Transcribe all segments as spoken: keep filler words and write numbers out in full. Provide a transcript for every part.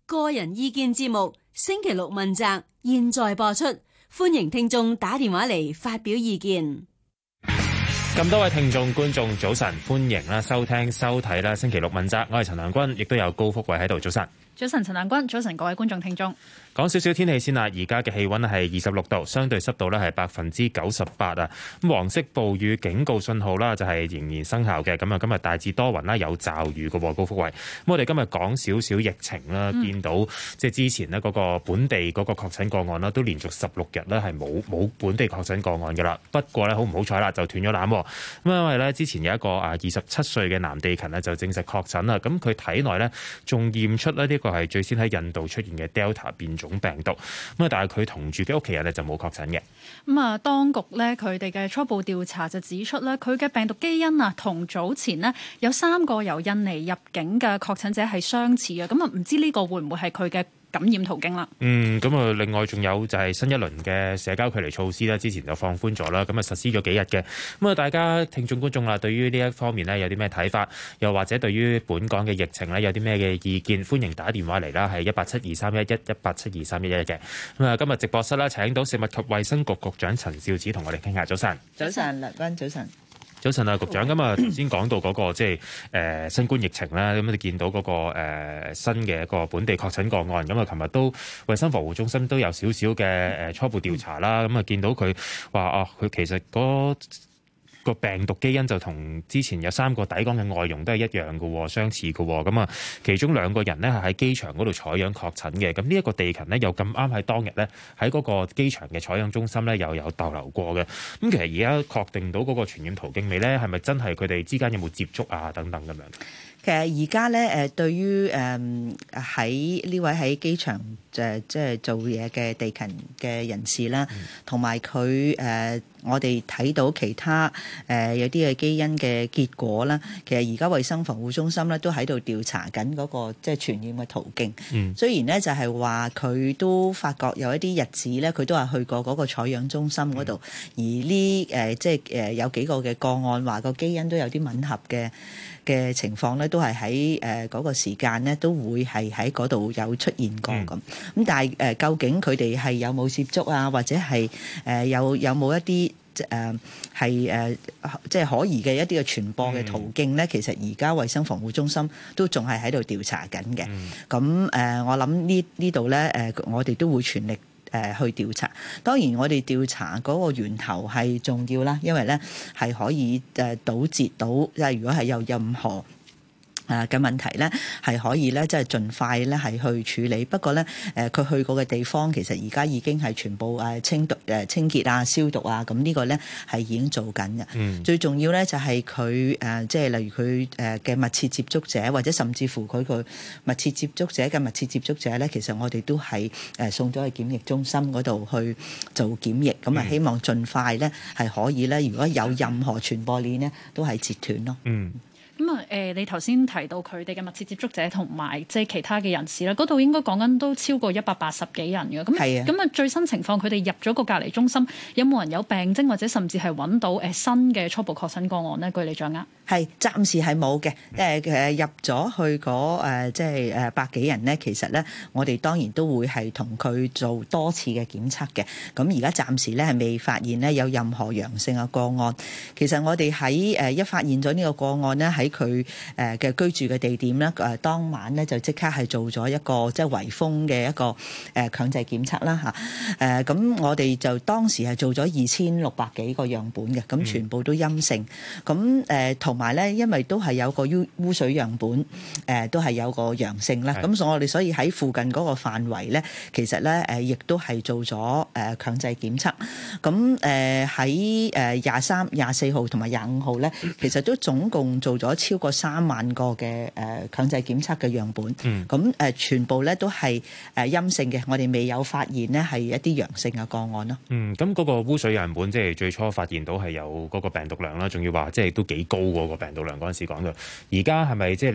個人意見節目星期六問責，現在播出，歡迎聽眾打電話嚟發表意見。 咁多位聽眾觀眾早晨，歡迎啦收聽收睇啦星期六問責，我係陳亮君，亦都有高福慧喺度。早晨， 早晨陳亮君，早晨各位觀眾聽眾。 講少少天氣先啦，而家嘅氣溫係二十六度，相對濕度咧係百分之九十八啊。咁黃色暴雨警告信號啦，就係仍然生效嘅。咁啊，今日大致多雲啦，有驟雨嘅。高福慧，咁我哋今日講少少疫情啦，嗯、見到即係之前呢嗰個本地嗰個確診個案啦，都連續十六日咧係冇冇本地確診個案嘅啦。不過咧好唔好彩啦，就斷咗纜。咁因為咧之前有一個啊二十七歲嘅男地勤呢，就證實確診啦。咁佢體內咧仲驗出咧呢個係最先喺印度出現嘅 Delta 變種病毒，咁啊，但係佢同住嘅屋企人咧就冇確診嘅。 咁啊，當局咧佢哋嘅初步調查就指出咧，佢嘅病毒基因啊，同早前呢有三個由印尼入境嘅確診者係相似嘅。咁啊，唔知呢個會唔會係佢嘅感染途徑啦？嗯， 咁啊，另外仲有就係新一輪嘅社交距離措施啦，之前就放寬咗啦，咁啊實施咗幾日嘅。咁啊，大家聽眾觀眾啦，對於呢一方面呢，有啲咩睇法？又或者對於本港嘅疫情呢，有啲咩嘅意見？歡迎打電話嚟啦，係一八七二三一一一八七二三一一嘅。咁啊，今日直播室啦，請到食物及衛生局局長陳肇始同我哋傾下。早晨， 早晨，梁君，早晨。 早晨啊，局長，咁啊頭先講到嗰個即係誒新冠疫情啦，咁你見到嗰個誒新嘅一個本地確診個案，咁啊琴日都衛生防護中心都有少少嘅誒初步調查啦，咁啊見到佢話啊，佢其實嗰個病毒基因就同之前有三個抵港嘅外傭都係一樣嘅，相似嘅。咁啊，其中兩個人呢係喺機場嗰度採樣確診嘅。咁呢一個地勤呢，又咁啱喺當日呢喺嗰個機場嘅採樣中心呢又有逗留過嘅。咁其實而家確定到嗰個傳染途徑未呢？係咪真係佢哋之間有冇接觸啊？等等咁樣。 其實而家咧誒，對於誒喺呢位喺機場誒即係做嘢嘅地勤嘅人士啦，同埋佢誒我哋睇到其他誒、呃、有啲嘅基因嘅結果啦。其實而家衛生防護中心咧都喺度調查緊嗰個即係傳染嘅途徑。嗯，雖然咧就係話佢都發覺有一啲日子咧，佢都係去過嗰個採樣中心嗰度，嗯、而呢誒即係誒有幾個嘅個案話個基因都有啲吻合嘅嘅情況咧，都係喺誒嗰個時間咧，都會係喺嗰度有出現過咁。咁、嗯、但係誒、呃，究竟佢哋係有冇接觸啊，或者係誒、呃、有有冇一啲誒係誒即係可疑嘅一啲嘅傳播嘅途徑咧？嗯、其實而家衛生防護中心都仲係喺度調查緊嘅。咁誒、嗯呃，我諗呢呢度咧誒，我哋都會全力誒去調查。當然，我哋調查嗰個源頭係重要啦，因為咧係可以誒堵截到，即係如果係有任何誒嘅問題咧，係可以咧即係盡快咧係去處理。不過咧誒，佢去過嘅地方其實而家已經係全部誒清毒誒清潔啊、消毒啊，咁呢個咧係已經做緊嘅。嗯、最重要咧就係佢誒即係例如佢誒嘅密切接觸者，或者甚至乎佢個密切接觸者嘅密切接觸者咧，其實我哋都係誒送咗去檢疫中心嗰度去做檢疫。咁啊、嗯，希望盡快咧係可以咧，如果有任何傳播鏈咧，都係截斷咯。嗯。 咁啊，誒，你頭先提到佢哋嘅密切接觸者同埋即係其他嘅人士啦，嗰度應該講緊都超過一百八十幾人嘅。咁係啊，咁啊最新情況，佢哋入咗個隔離中心，有冇人有病徵或者甚至係揾到誒新嘅初步確診個案呢？據你掌握， 係暫時係冇嘅。誒誒入咗去嗰誒即係誒百幾人呢，其實咧我哋當然都會係同佢做多次嘅檢測嘅。咁而家暫時咧係未發現咧有任何陽性嘅個案。其實我哋喺誒一發現咗呢個個案咧喺佢誒嘅居住嘅地點咧，誒當晚咧就即刻係做咗一個即係圍封嘅一個誒強制檢測啦嚇。誒咁我哋就當時係做咗二千六百幾個樣本嘅，咁全部都陰性。咁誒同埋咧，因為都係有個污污水樣本，誒都係有個陽性啦。咁所以我哋所以喺附近嗰個範圍咧，其實咧誒亦都係做咗誒強制檢測。咁誒喺誒廿三、廿四號同埋廿五號咧，其實都總共做咗超過三萬個嘅誒強制檢測嘅樣本，咁誒、嗯、全部咧都係誒陰性嘅，我哋未有發現呢係一啲陽性嘅個案咯。 嗯，咁嗰個污水樣本即係最初發現到係有嗰個病毒量啦，仲要話即係都幾高喎個病毒量嗰陣時講到，而家係咪即係嚟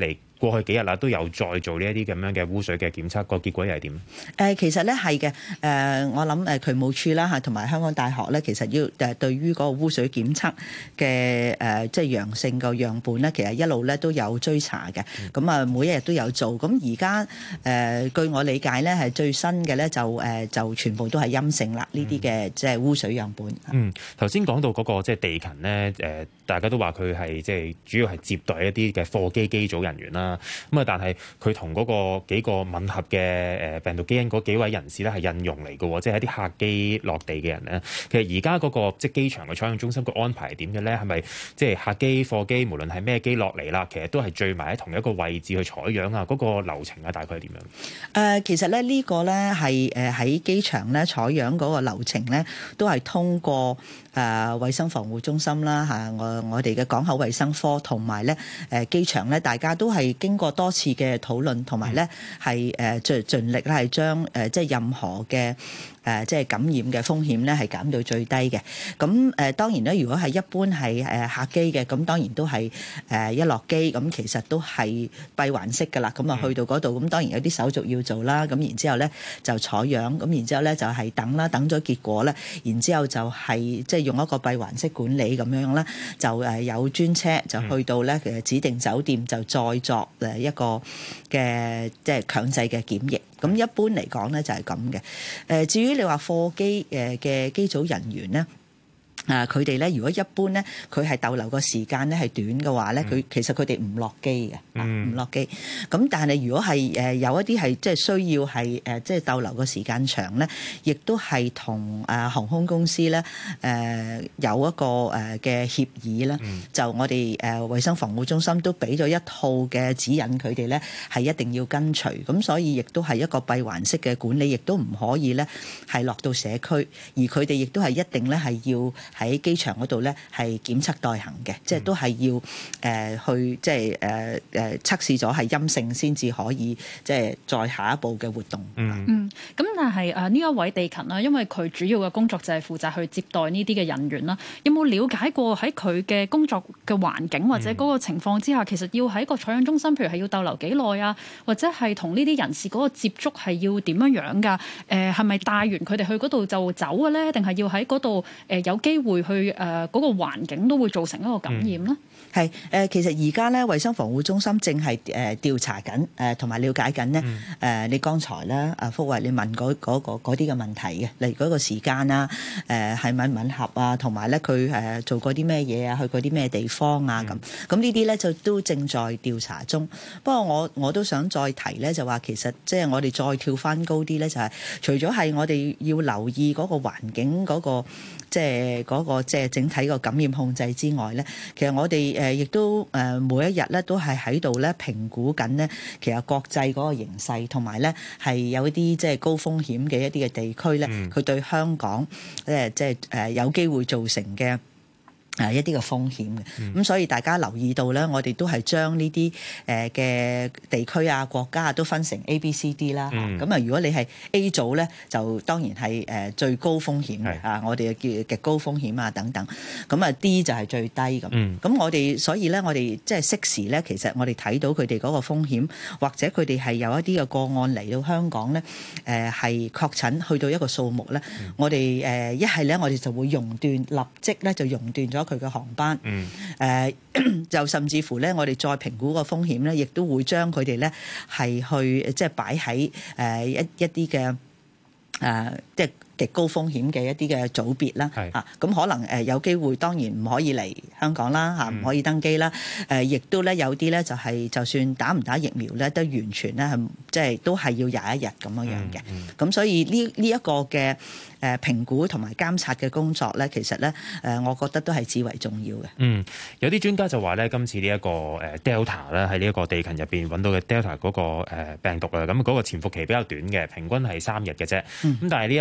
過去幾日啦都有再做呢一啲咁樣嘅污水嘅檢測，個結果又係點？ 誒其實咧係嘅，誒我諗誒渠務署啦嚇，同埋香港大學咧，其實要誒對於嗰個污水檢測嘅誒即係陽性個樣本咧，其實一路咧都有追查嘅。咁啊，每一日都有做。咁而家誒據我理解咧，係最新嘅咧就誒就全部都係陰性啦。呢啲嘅即係污水樣本。 嗯，頭先講到嗰個即係地勤咧，誒大家都話佢係即係主要係接待一啲嘅貨機機組人員啦。咁啊，但係佢同嗰個幾個吻合嘅誒病毒基因嗰幾位人士咧係印傭嚟嘅，即係一啲客機落地嘅人咧。其實而家嗰個即係機場嘅採樣中心個安排係點嘅咧？係咪即係客機、貨機，無論係咩機落嚟啦，其實都係聚埋喺同一個位置去採樣啊？嗰個流程啊，大概係點樣？誒、 呃，其實咧呢個咧係誒喺機場咧採樣嗰個流程咧，都係通過誒衛生防護中心啦嚇，我我哋嘅港口衛生科同埋咧誒機場咧，大家都係經過多次嘅討論，同埋咧係誒盡盡力咧係將誒即係任何嘅誒即係感染嘅風險咧係減到最低嘅。咁誒當然咧，如果係一般係誒客機嘅，咁當然都係誒一落機咁，其實都係閉環式㗎啦。咁啊去到嗰度，咁當然有啲手續要做啦。咁然之後咧就採樣，咁然之後咧就係等啦，等咗結果咧，然之後就係即係用一個閉環式管理咁樣啦，就誒有專車就去到咧誒指定酒店，就再作誒一個嘅即係強制嘅檢疫。咁一般嚟講咧就係咁嘅。誒至於你話貨機誒嘅機組人員咧。啊！佢哋咧，如果一般咧，佢係逗留個時間咧係短嘅話咧，佢、嗯、其實佢哋唔落機嘅，唔落機。咁但係如果係誒有一啲係即係需要係誒即係逗留個時間長咧，亦都係同誒航空公司咧誒有一個誒嘅協議啦。嗯、就我哋誒衛生防護中心都俾咗一套嘅指引，佢哋咧係一定要跟隨。咁所以亦都係一個閉環式嘅管理，亦都唔可以咧係落到社區，而佢哋亦都係一定咧係要。喺機場嗰度咧係檢測待行嘅，即係都係要誒、呃、去即係誒誒測試咗係陰性先至可以即係再下一步嘅活動。 嗯嗯，咁但係誒呢一位地勤啦，因為佢主要嘅工作就係負責去接待呢啲嘅人員啦。有冇了解過喺佢嘅工作嘅環境或者嗰個情況之下，嗯、其實要喺個採樣中心，譬如係要逗留幾耐啊，或者係同呢啲人士嗰個接觸係要點樣樣㗎？誒係咪帶完佢哋去嗰度就走嘅咧？定係要喺嗰度誒有機會？會去誒嗰個環境都會造成一個感染咧。 係誒，其實而家咧，衛生防護中心正係誒調查緊誒，同埋了解緊咧誒。你剛才咧，阿福慧你問嗰嗰個嗰啲嘅問題嘅，例如嗰個時間啊，誒係咪吻合啊，同埋咧佢誒做過啲咩嘢啊，去過啲咩地方啊咁。咁呢啲咧就都正在調查中。不過我我都想再提咧，就話其實即係我哋再跳翻高啲咧，就係除咗係我哋要留意嗰個環境嗰個。即係嗰個即係整體個感染控制之外咧，其實我哋誒亦都誒每一日咧都係喺度咧評估緊咧，其實國際嗰個形勢同埋咧係有一啲即係高風險嘅一啲嘅地區咧，佢、嗯、對香港誒即係誒有機會造成嘅。誒一啲嘅風險嘅，咁、嗯、所以大家留意到咧，我哋都係將呢啲誒嘅地區啊、國家啊都分成 A、B、C、D 啦。咁啊、嗯，如果你係 A 組咧，就當然係誒最高風險嘅啊，是我哋叫極高風險啊等等。咁啊 D 就係最低咁。咁、嗯、我哋所以咧，我哋即係適時咧，其實我哋睇到佢哋嗰個風險，或者佢哋係有一啲嘅個案嚟到香港咧，誒係確診去到一個數目咧，嗯、我哋誒一係咧，我哋就會熔斷，立即咧就熔斷咗佢嘅航班，誒、嗯呃、就甚至乎咧，我哋再評估個風險咧，亦都會將佢哋咧係去即係擺喺誒一一啲嘅誒即係極高風險嘅一啲嘅組別啦，嚇咁是、啊、可能誒有機會，當然唔可以嚟香港啦，嚇唔、嗯、可以登機啦，誒、呃、亦都咧有啲咧就係、是、就算打唔打疫苗咧，都完全咧係即係都係要廿一日咁樣樣嘅，咁、嗯嗯、所以呢呢一個嘅誒評估同埋監察嘅工作咧，其實咧誒我覺得都係至為重要嘅。嗯， 有啲專家就話咧，今次呢一個誒 Delta 咧喺呢一個地勤入邊揾到嘅 Delta 嗰個誒病毒啊，咁嗰個潛伏期比較短嘅，平均係三日嘅啫。咁、嗯、但係呢一個個案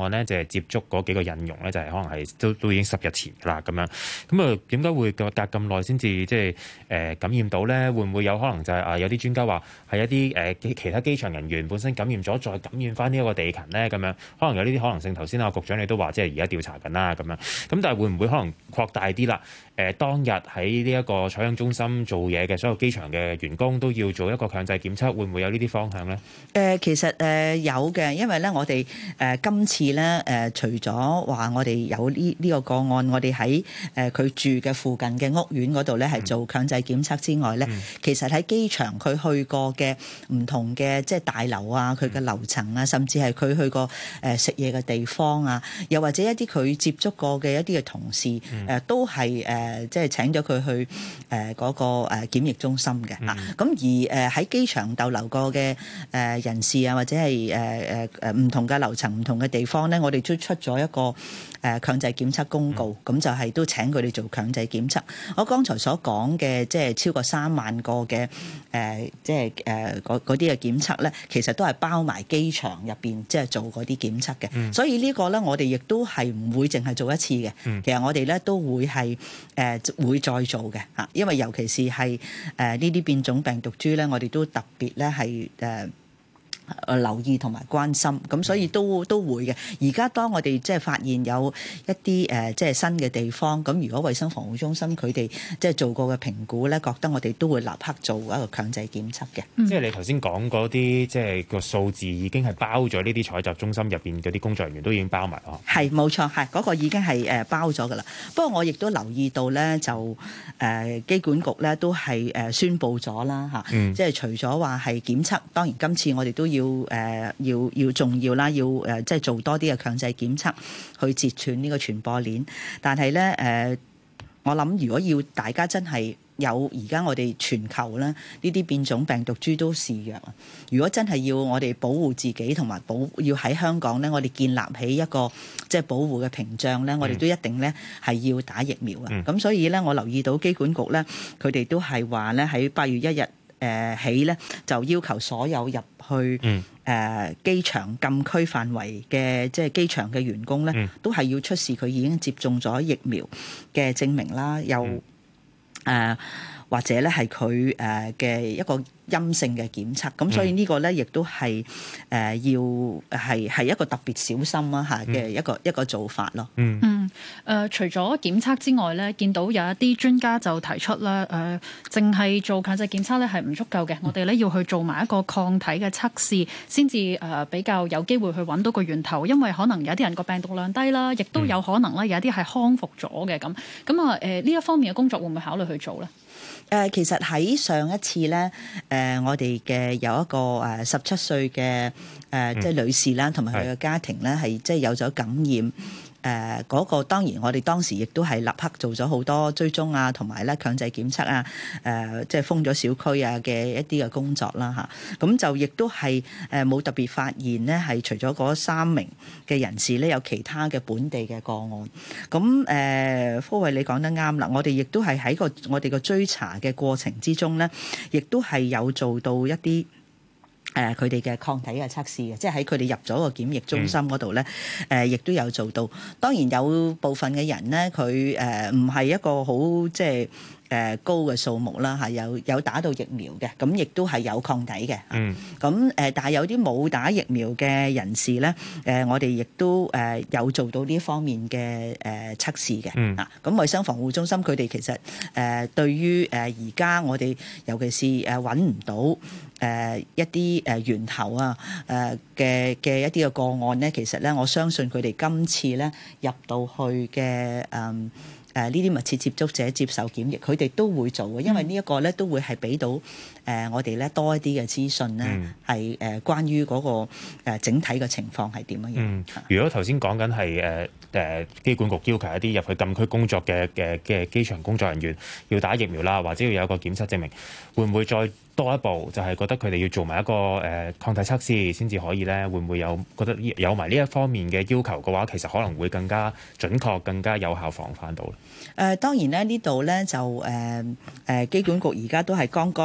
案呢，就係接觸嗰幾個印傭呢，就係可能係都都已經十日前啦咁樣。咁啊點解會隔隔咁耐先至即係誒感染到呢？會唔會有可能就係啊有啲專家話係一啲誒其他機場人員本身感染咗，再感染翻呢一個地勤呢？咁樣可能有呢啲可能性。頭先啊局長你都話即係而家調查緊啦咁樣。咁但係會唔會可能擴大啲啦？誒當日喺呢一個採樣中心做嘢嘅所有機場嘅員工都要做一個強制檢測，會唔會有呢啲方向呢？ 誒、呃、其實誒、呃、有嘅，因為咧我哋誒、呃、今次咧誒、呃、除咗話我哋有呢呢個個案，我哋喺誒佢住嘅附近嘅屋苑嗰度咧係做強制檢測之外咧，嗯、其實喺機場佢去過嘅唔同嘅即係大樓啊，佢嘅樓層啊，甚至係佢去過誒食嘢嘅地方啊，又或者一啲佢接觸過嘅一啲嘅同事誒、嗯呃、都係誒、呃、即係請咗佢去誒嗰、呃那個誒檢疫中心嘅啊。咁、嗯、而誒喺機場逗留過嘅誒、呃人士啊，或者係誒誒誒唔同嘅樓層、唔同嘅地方咧，我哋都出咗一個誒強制檢測公告，咁、嗯、就係都請佢哋做強制檢測。我剛才所講嘅即係超過三萬個嘅誒、呃，即係誒嗰啲嘅檢測咧，其實都係包埋機場入邊即係做嗰啲檢測嘅。嗯、所以呢個咧，我哋亦都係唔會淨係做一次嘅。嗯、其實我哋咧都會係誒、呃、會再做嘅嚇，因為尤其是係誒呢啲變種病毒株咧，我哋都特別咧係誒。誒留意同埋關心，咁所以都都會嘅。而家當我哋即係發現有一啲誒即係新嘅地方，咁如果衛生防護中心佢哋即係做過嘅評估咧，覺得我哋都會立刻做一個強制檢測嘅。 嗯、即係你頭先講嗰啲，即係個數字已經係包咗呢啲採集中心入邊嗰啲工作人員都已經包埋哦。係冇錯，係嗰、那個已經係誒包咗噶啦。不過我亦都留意到咧，就誒、呃、機管局咧都係誒宣布咗啦嚇，嗯、即係除咗話係檢測，當然今次我哋都要。要誒、呃、要要重要啦，要誒、呃、即係做多啲嘅強制檢測去截斷呢個傳播鏈。但係咧誒，我諗如果要大家真係有而家我哋全球咧呢啲變種病毒株都肆虐啊！如果真係要我哋保護自己同埋保要喺香港咧，我哋建立起一個即係保護嘅屏障咧，我哋都一定咧係要打疫苗啊！咁、嗯、所以咧，我留意到機管局咧，佢哋都係話咧喺八月一日。誒起咧就要求所有入去誒、呃、機場禁區範圍嘅即係機場嘅員工咧，嗯、都係要出示佢已經接種咗疫苗嘅證明啦，又誒、呃、或者咧係佢誒嘅一個陰性嘅檢測，咁所以呢個咧亦都係誒、呃、要係係一個特別小心啊嚇嘅一個、嗯、一個做法咯。嗯嗯誒、呃，除咗檢測之外咧，見到有一啲專家就提出咧，誒、呃，淨係做強制檢測咧係唔足夠嘅，嗯、我哋咧要去做埋一個抗體嘅測試，先至誒比較有機會去揾到個源頭，因為可能有啲人個病毒量低啦，亦都有可能咧有一啲係康復咗嘅咁。咁啊誒呢一方面嘅工作會唔會考慮去做咧？ 誒、呃、其實喺上一次咧，誒、呃、我哋嘅有一個誒十七歲嘅誒即係女士啦，同埋佢嘅家庭咧係即係有咗感染。誒嗰、呃那個當然，我哋當時亦都係立刻做咗好多追蹤啊，同埋咧強制檢測啊，誒、呃、即係封咗小區啊嘅一啲嘅工作啦嚇。咁、啊、就亦都係誒冇特別發現呢，係除咗嗰三名嘅人士咧，有其他嘅本地嘅個案。咁誒，科慧你講得啱啦，我哋亦都係喺個我哋個追查嘅過程之中咧，亦都係有做到一啲。誒佢哋嘅抗體嘅測試嘅，即係喺佢哋入咗個檢疫中心嗰度咧，誒、嗯、亦、呃、都有做到。當然有部分嘅人咧，佢誒唔係一個好即係。誒高嘅數目啦嚇，有有打到疫苗嘅，咁亦都係有抗體嘅。嗯。咁誒，但係有啲冇打疫苗嘅人士咧，誒我哋亦都誒有做到呢方面嘅誒測試嘅。嗯。啊，咁衞生防護中心佢哋其實誒對於誒而家我哋尤其是誒揾唔到誒一啲誒源頭啊誒嘅嘅一啲嘅個案咧，其實咧我相信佢哋今次咧入到去嘅誒。誒呢啲密切接觸者接受檢疫，佢哋都會做嘅，因為呢一個咧都會係俾到誒、呃、我哋咧多一啲嘅資訊咧，係誒、嗯、關於嗰、那個、呃、整體嘅情況係點樣樣。 嗯，如果頭先講緊係誒誒機管局要求一啲入去禁區工作嘅嘅嘅機場工作人員要打疫苗啦，或者要有一個檢測證明，會唔會再多一步？就係、是、覺得佢哋要做埋一個誒、呃、抗體測試先至可以咧？會唔會有覺得有埋呢一方面嘅要求嘅話，其實可能會更加準確、更加有效防範到咧？ 誒、呃、當然咧，呢度咧就誒誒、呃、機管局而家都係剛剛我見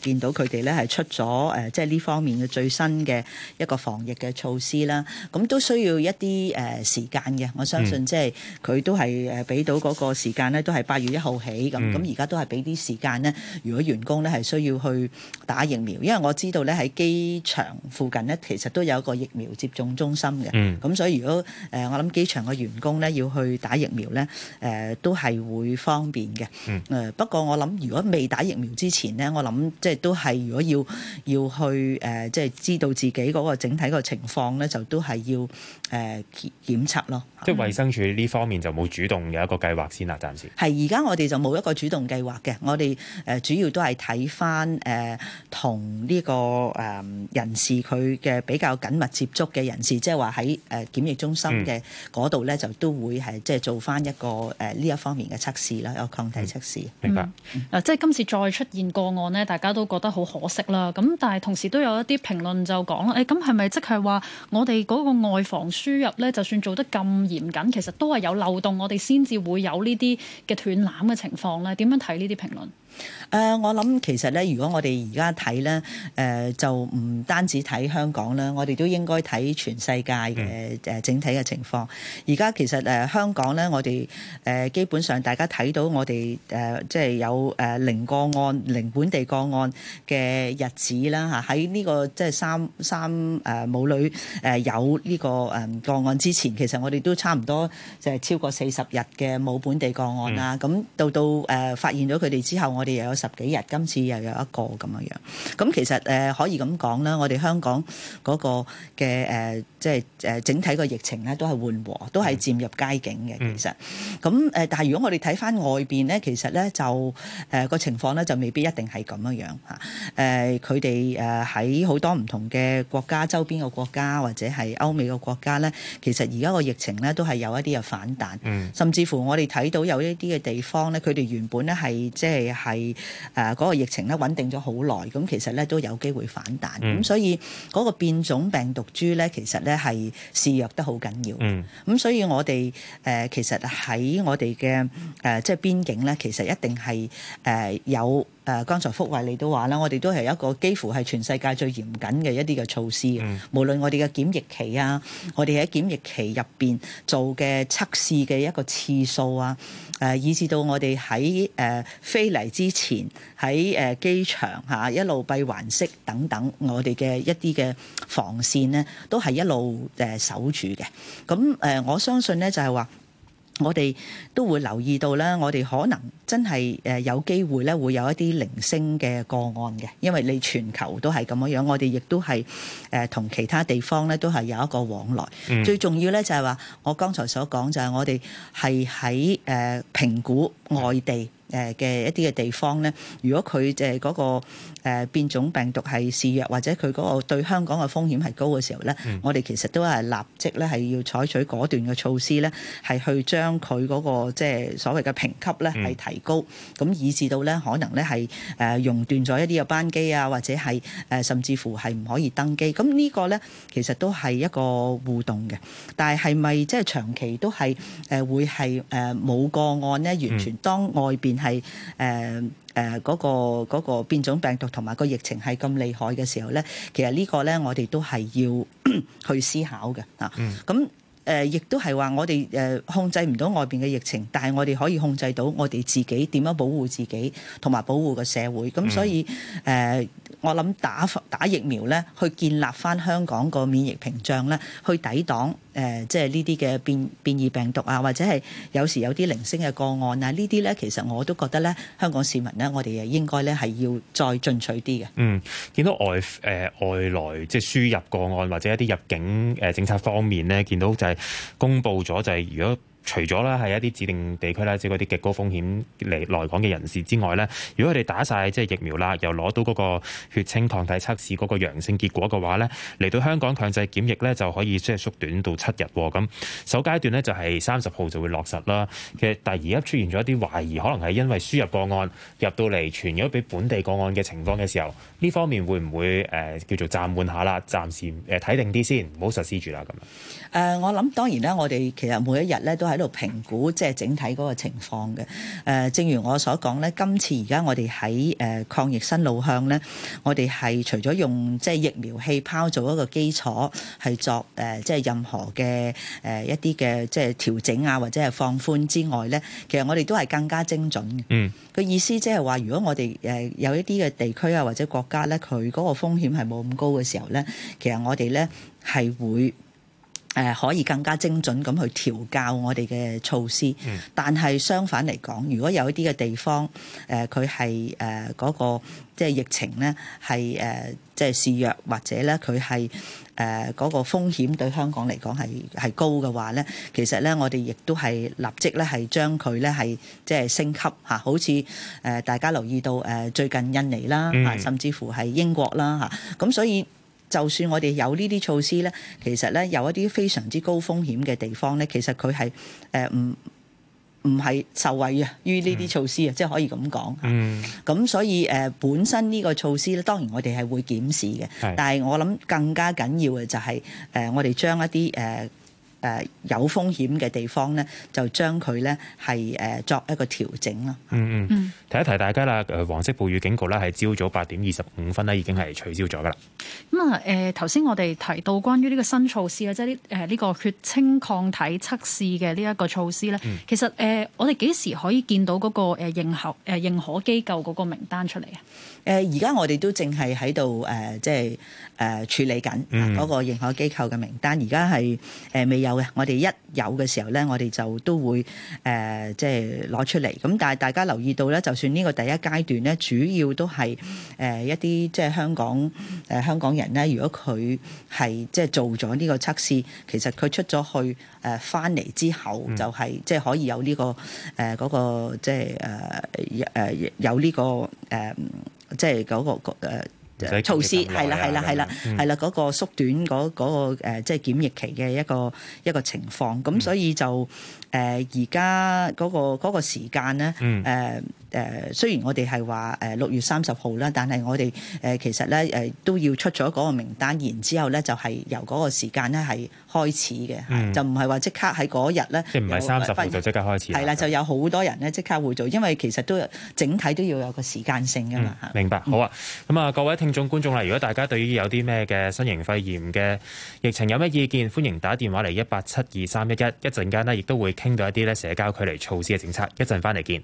見到佢哋咧係出咗誒即係呢方面嘅最新嘅一個防疫嘅措施啦。咁都需要一啲誒時間嘅，我相信即係佢都係誒俾到嗰個時間咧，都係八月一號起咁。咁而家都係俾啲時間咧，如果員工咧係需要去打疫苗，因為我知道咧喺機場附近咧其實都有一個疫苗接種中心嘅。咁、嗯、所以如果誒我諗機場嘅員工咧要去打疫苗咧，誒都係會方便嘅。誒、嗯、不過我諗如果未打疫苗之前咧，我諗即係都係如果要要去誒即係知道自己嗰個整體個情況咧，就都係要誒、呃、檢測咯。 即係衛生署呢方面就冇主動有一個計劃先啦，暫時係而家我哋就冇一個主動計劃嘅，我哋誒主要都係睇翻誒同呢個誒人士佢嘅比較緊密接觸嘅人士，即係話喺誒檢疫中心嘅嗰度咧，就都會係即係做翻一個誒呢一方面嘅測試啦，有抗體測試。 明白。 嗱、嗯，即係今次再出現個案呢，大家都覺得好可惜啦。咁但係同時都有一啲評論就講啦，誒咁係咪即係話我哋嗰個外防輸入咧，就算做得咁嚴謹，其實都係有漏洞，我哋先至會有呢啲嘅斷纜嘅情況咧。點樣睇呢啲評論？ 誒、呃，我諗其實咧，如果我哋而家睇咧，誒、呃、就唔單止睇香港啦，我哋都應該睇全世界嘅誒整體嘅情況。而家其實誒、呃、香港咧，我哋誒、呃、基本上大家睇到我哋誒、呃、即係有誒零個案、零本地個案嘅日子啦嚇。喺呢、這個即係三三誒母女誒有呢個誒個案之前，其實我哋都差唔多就係超過四十日嘅冇本地個案啦。咁、嗯、到到誒、呃、發現咗佢哋之後，我哋又有十幾日，今次又有一個咁樣樣。咁其實誒、呃、可以咁講啦，我哋香港嗰個嘅誒即係誒整體個疫情咧都係緩和，都係漸入佳境嘅。其實咁誒、呃，但係如果我哋睇翻外邊咧，其實咧就誒個、呃、情況咧就未必一定係咁樣樣嚇。誒佢哋誒喺好多唔同嘅國家，周邊嘅國家或者係歐美嘅國家咧，其實而家個疫情咧都係有一啲嘅反彈，嗯、甚至乎我哋睇到有一啲嘅地方咧，佢哋原本咧係即係係。誒嗰個疫情咧穩定咗好耐，咁其實咧都有機會反彈，咁、嗯、所以嗰個變種病毒株咧，其實咧係肆虐得好緊要。咁、嗯、所以我哋誒、呃、其實喺我哋嘅誒即係邊境咧，其實一定係誒、呃、有。誒，剛才福慧你都話啦，我哋都係一個幾乎係全世界最嚴謹嘅一啲嘅措施。嗯、無論我哋嘅檢疫期啊，我哋喺檢疫期入邊做嘅測試嘅一個次數啊，誒、呃，以至到我哋喺誒飛嚟之前喺誒機場嚇、啊、一路閉環式等等，我哋嘅一啲嘅防線呢，都係一路誒守住嘅。咁誒、呃，我相信呢，就係、是、話。我哋都會留意到咧，我哋可能真係誒有機會咧，會有一啲零星嘅個案嘅，因為你全球都係咁樣樣，我哋亦都係誒同其他地方咧都係有一個往來。嗯、最重要咧就係話，我剛才所講就係我哋係喺誒評估外地誒嘅一啲嘅地方咧，如果佢誒嗰個誒變種病毒係肆虐，或者佢嗰個對香港嘅風險係高嘅時候咧，嗯、我哋其實都係立即咧係要採取果斷嘅措施咧，係去將佢嗰個即係所謂嘅評級咧係提高，咁、嗯、以至到咧可能咧係誒熔斷咗一啲嘅班機啊，或者係誒甚至乎係唔可以登機。咁呢個咧其實都係一個互動嘅，但係係咪即係長期都係誒會係誒冇個案咧？完全當外邊係誒誒嗰個嗰個變種病毒同埋個疫情係咁厲害嘅時候咧，其實呢個咧我哋都係要去思考嘅啊。咁誒亦都係話我哋誒控制唔到外邊嘅疫情，但係我哋可以控制到我哋自己點樣保護自己同埋保護個社會。咁所以誒、呃，我諗打打疫苗咧，去建立翻香港個免疫屏障咧，去抵擋。誒、呃，即係呢啲嘅變變異病毒啊，或者係有時有啲零星嘅個案啊，呢啲咧其實我都覺得咧，香港市民咧，我哋誒應該咧係要再進取啲嘅。嗯， 見到外誒、呃、外來即係輸入個案或者一啲入境誒政策方面咧，見到就係公布咗就係如果。除咗咧係一啲指定地區啦，即係嗰啲極高風險嚟來港嘅人士之外咧，如果佢哋打晒即係疫苗啦，又攞到嗰個血清抗體測試嗰個陽性結果嘅話咧，嚟到香港強制檢疫咧就可以即係縮短到七日。咁首階段咧就係三十號就會落實啦。其實但係而家出現咗一啲懷疑，可能係因為輸入個案入到嚟傳咗俾本地個案嘅情況嘅時候，呢方面會唔會誒、呃、叫做暫緩下啦？暫時誒睇定啲先，唔好實施住啦咁樣。 誒、呃，我諗當然啦，我哋其實每一日咧都喺度評估即係整體嗰個情況嘅。誒、呃，正如我所講咧，今次而家我哋喺誒抗疫新路向咧，我哋係除咗用即係疫苗氣泡做一個基礎，係作誒即係任何嘅誒一啲嘅即係調整啊，或者係放寬之外咧，其實我哋都係更加精準嘅。嗯，個意思即係話，如果我哋誒有一啲嘅地區啊或者國家咧，佢嗰個風險係冇咁高嘅時候咧，其實我哋咧係會。誒、呃、可以更加精準咁去調校我哋嘅措施，嗯、但係相反嚟講，如果有一啲嘅地方，誒佢係誒嗰個即係疫情咧係誒即係肆虐，或者咧佢係誒嗰個風險對香港嚟講係係高嘅話咧，其實咧我哋亦都係立即咧係將佢咧係即係升級嚇，好似誒、呃、大家留意到誒、呃、最近印尼啦嚇，甚至乎係英國啦嚇，咁、啊、所以。就算我哋有呢啲措施咧，其實咧有一啲非常之高風險嘅地方咧，其實佢係誒唔唔係受惠啊於呢啲措施啊，嗯、即係可以咁講。嗯。咁所以誒、呃、本身呢個措施咧，當然我哋係會檢視嘅。係。但係我諗更加緊要嘅就係、是、誒、呃、我哋將一啲誒。呃誒、呃、有風險嘅地方咧，就將佢咧係誒作一個調整咯。 嗯嗯，提一提大家啦，誒黃色暴雨警告咧係朝早八點二十五分咧已經係取消咗噶啦。 咁啊誒頭先我哋提到關於呢個新措施啊，即係呢誒呢個血清抗體測試嘅呢一個措施咧，嗯、其實誒、呃、我哋幾時可以見到嗰個誒認可誒認可機構嗰個名單出嚟啊？ 誒而家我哋都淨係喺度誒即係誒處理緊嗰個認可機構嘅名單，而家係誒未有嘅。我哋一有嘅時候咧，我哋就都會誒即係攞出嚟。咁但係大家留意到咧，就算呢個第一階段咧，主要都係誒一啲即係香港誒香港人咧，如果佢係即係做咗呢個測試，其實佢出咗去誒翻嚟之後，就係即係可以有呢個誒嗰個即係誒誒有呢個誒。即係嗰、那個、呃、措施係啦係啦係啦係啦嗰個縮短嗰、那、嗰個、呃、即係檢疫期嘅一個一個情況，咁、嗯、所以就誒而家嗰個嗰、那個時間咧誒誒雖然我哋係話誒六月三十號啦，但係我哋誒、呃、其實咧誒、呃、都要出咗嗰個名單，然之後咧就係、是、由嗰個時間咧係開始嘅，嗯、就唔係話即刻喺嗰日咧， 即係唔係三十號就即刻開始。係啦， 就有好多人咧即刻會做，因為其實都整體都要有個時間性㗎嘛、嗯。明白， 好啊。咁啊，各位聽眾觀眾啦，如果大家對於有啲咩嘅新型肺炎嘅疫情有咩意見，歡迎打電話嚟一八七二三一一，一陣間呢，亦都會傾到一啲咧社交距離措施嘅政策。一陣翻嚟見。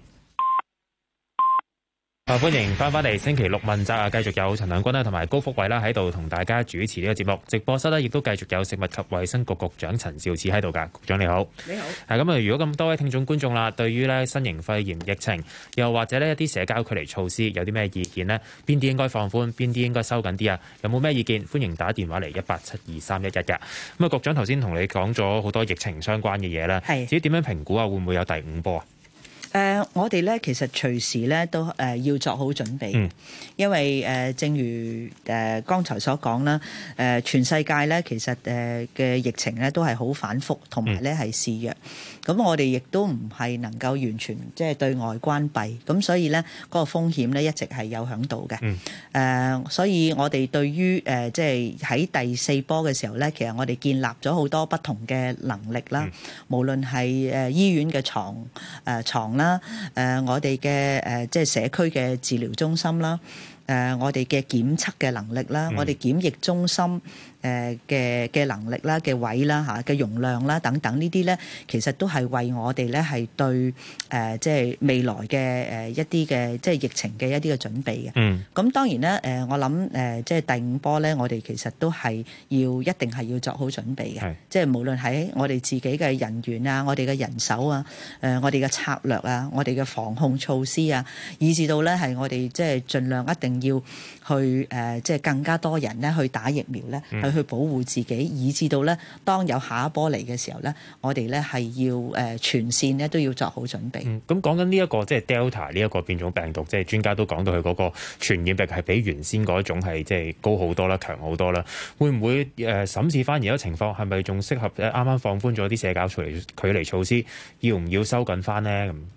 啊！歡迎翻返嚟星期六問責啊，繼續有陳亮君啦，同埋高福偉啦喺度同大家主持呢個節目。直播室呢亦都繼續有食物及衛生局局長陳肇始喺度㗎。局長你好， 你好。 係咁啊！如果咁多位聽眾觀眾啦，對於咧新型肺炎疫情，又或者呢一啲社交距離措施有啲咩意見呢？邊啲應該放寬，邊啲應該收緊啲啊？有冇咩意見？歡迎打電話嚟一八七二三一一嘅。咁啊，局長頭先同你講咗好多疫情相關嘅嘢啦，係至於點樣評估啊？會唔會有第五波啊？ 誒、呃，我哋咧其實隨時咧都誒、呃、要作好準備，嗯、因為誒、呃、正如誒、呃、剛才所講啦，誒、呃、全世界咧其實誒嘅、呃、疫情咧都係好反覆，同埋咧係肆虐。咁、嗯、我哋亦都唔係能夠完全即係對外關閉，咁所以咧嗰、那個風險咧一直係有響度嘅。誒、嗯呃，所以我哋對於誒即係喺第四波嘅時候咧，其實我哋建立咗好多不同嘅能力啦，嗯、無論係誒醫院嘅床誒牀啦。誒、呃，我哋嘅誒即係社區嘅治療中心啦，誒、呃，我哋嘅檢測嘅能力啦，嗯、我哋檢疫中心誒嘅嘅能力啦、嘅位啦嚇、嘅容量啦等等呢啲咧，其實都係為我哋咧係對誒、呃、即係未來嘅誒一啲嘅即係疫情嘅一啲嘅準備嘅。嗯。咁當然咧誒、呃，我諗誒、呃、即係第五波咧，我哋其實都係要一定係要作好準備嘅。係。即係無論喺我哋自己嘅人員啊、我哋嘅人手啊、誒、呃、我哋嘅策略啊、我哋嘅防控措施啊，以至到咧係我哋即係盡量一定要去誒、呃、即係更加多人咧去打疫苗咧。嗯。去保護自己，以至到咧，當有下一波嚟嘅時候咧，我哋咧係要誒全線咧都要作好準備。 咁講緊呢一個即係 Delta 呢一個變種病毒，即係專家都講到佢嗰個傳染力係比原先嗰一種係即係高好多啦、強好多啦。會唔會誒審視翻而家情況係咪仲適合啱啱放寬咗啲社交距離距離措施，要唔要收緊翻呢？咁